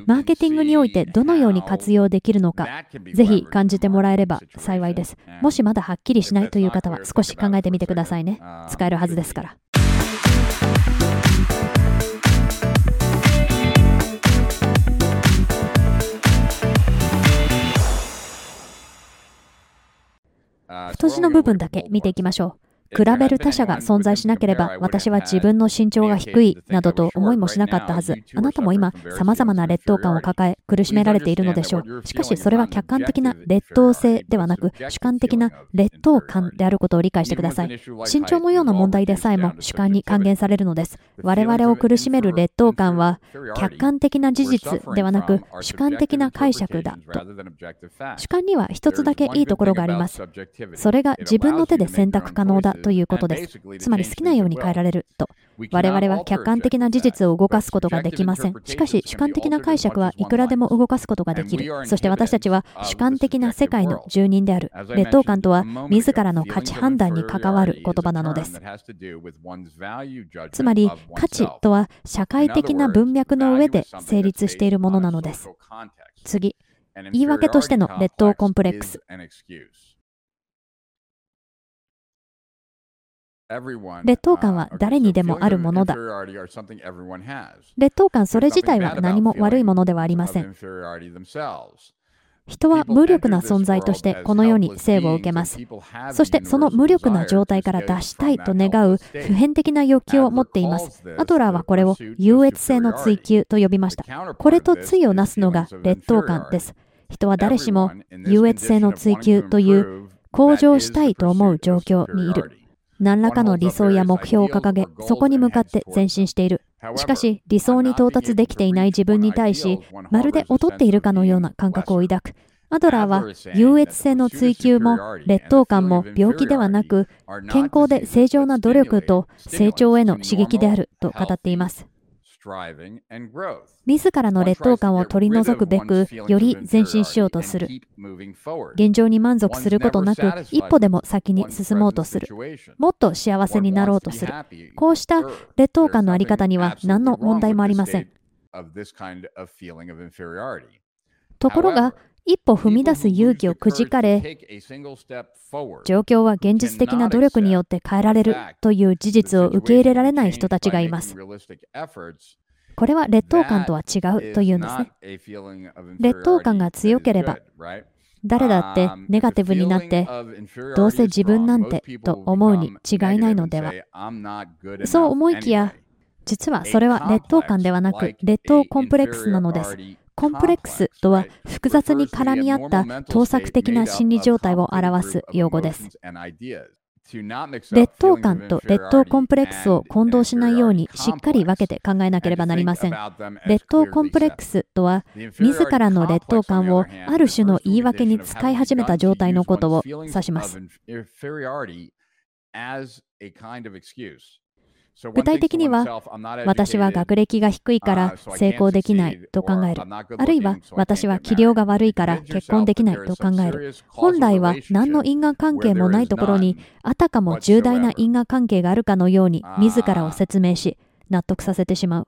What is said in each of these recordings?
マーケティングにおいてどのように活用できるのか、ぜひ感じてもらえれば幸いです。もしまだはっきりしないという方は少し考えてみてくださいね。使えるはずですから。太字の部分だけ見ていきましょう。比べる他者が存在しなければ、私は自分の身長が低いなどと思いもしなかったはず。あなたも今、様々な劣等感を抱え、苦しめられているのでしょう。しかし、それは客観的な劣等性ではなく、主観的な劣等感であることを理解してください。身長のような問題でさえも主観に還元されるのです。我々を苦しめる劣等感は、客観的な事実ではなく、主観的な解釈だと。主観には一つだけいいところがあります。それが自分の手で選択可能だということです。つまり好きなように変えられると。我々は客観的な事実を動かすことができません。しかし主観的な解釈はいくらでも動かすことができる。そして私たちは主観的な世界の住人である。劣等感とは自らの価値判断に関わる言葉なのです。つまり価値とは社会的な文脈の上で成立しているものなのです。次、言い訳としての劣等コンプレックス。劣等感は誰にでもあるものだ。劣等感それ自体は何も悪いものではありません。人は無力な存在としてこの世に生を受けます。そしてその無力な状態から脱したいと願う普遍的な欲求を持っています。アドラーはこれを優越性の追求と呼びました。これと対をなすのが劣等感です。人は誰しも優越性の追求という向上したいと思う状況にいる。何らかの理想や目標を掲げ、そこに向かって前進している。しかし、理想に到達できていない自分に対し、まるで劣っているかのような感覚を抱く。アドラーは、優越性の追求も、劣等感も病気ではなく、健康で正常な努力と成長への刺激であると語っています。自らの劣等感を取り除くべく、より前進しようとする。現状に満足することなく、一歩でも先に進もうとする。もっと幸せになろうとする。こうした劣等感のあり方には何の問題もありません。ところが、一歩踏み出す勇気をくじかれ、状況は現実的な努力によって変えられるという事実を受け入れられない人たちがいます。これは劣等感とは違うというんですね。劣等感が強ければ、誰だってネガティブになって、どうせ自分なんてと思うに違いないのでは。そう思いきや、実はそれは劣等感ではなく、劣等コンプレックスなのです。コンプレックスとは複雑に絡み合った盗作的な心理状態を表す用語です。劣等感と劣等コンプレックスを混同しないようにしっかり分けて考えなければなりません。劣等コンプレックスとは、自らの劣等感をある種の言い訳に使い始めた状態のことを指します。具体的には、私は学歴が低いから成功できないと考える。あるいは、私は器量が悪いから結婚できないと考える。本来は何の因果関係もないところに、あたかも重大な因果関係があるかのように自らを説明し、納得させてしまう。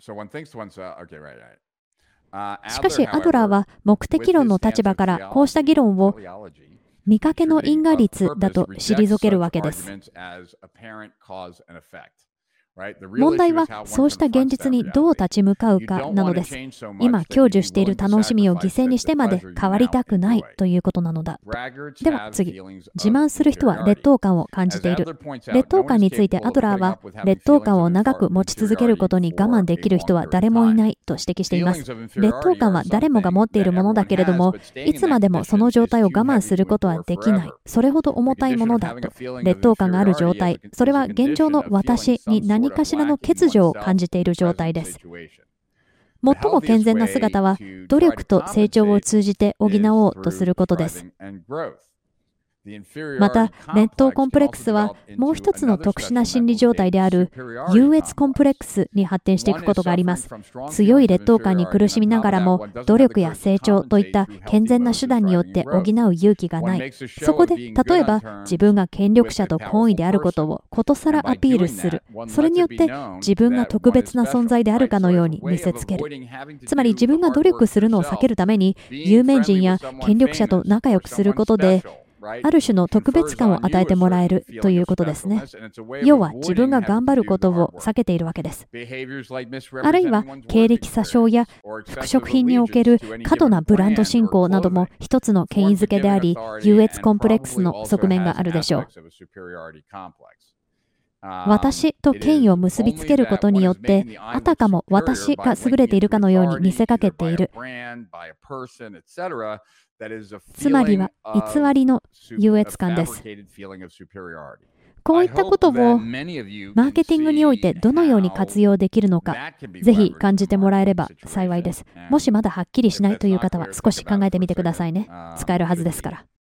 しかし、アドラーは目的論の立場からこうした議論を見かけの因果律だと退けるわけです。問題はそうした現実にどう立ち向かうかなのです。今享受している楽しみを犠牲にしてまで変わりたくないということなのだ。では次、自慢する人は劣等感を感じている。劣等感についてアドラーは、劣等感を長く持ち続けることに我慢できる人は誰もいないと指摘しています。劣等感は誰もが持っているものだけれども、いつまでもその状態を我慢することはできない。それほど重たいものだと。劣等感がある状態、それは現状の私に何かしらの欠如を感じている状態です。最も健全な姿は、努力と成長を通じて補おうとすることです。 また、劣等コンプレックスはもう一つの特殊な心理状態である優越コンプレックスに発展していくことがあります。強い劣等感に苦しみながらも、努力や成長といった健全な手段によって補う勇気がない。そこで、例えば自分が権力者と懇意であることをことさらアピールする。それによって自分が特別な存在であるかのように見せつける。つまり自分が努力するのを避けるために、有名人や権力者と仲良くすることで、ある種の特別感を与えてもらえるということですね。要は自分が頑張ることを避けているわけです。あるいは経歴詐称や服飾品における過度なブランド信仰なども一つの権威づけであり、優越コンプレックスの側面があるでしょう。私と権威を結びつけることによって、あたかも私が優れているかのように見せかけている。つまりは偽りの優越感です。こういったことをマーケティングにおいてどのように活用できるのか、ぜひ感じてもらえれば幸いです。もしまだはっきりしないという方は少し考えてみてくださいね。使えるはずですから。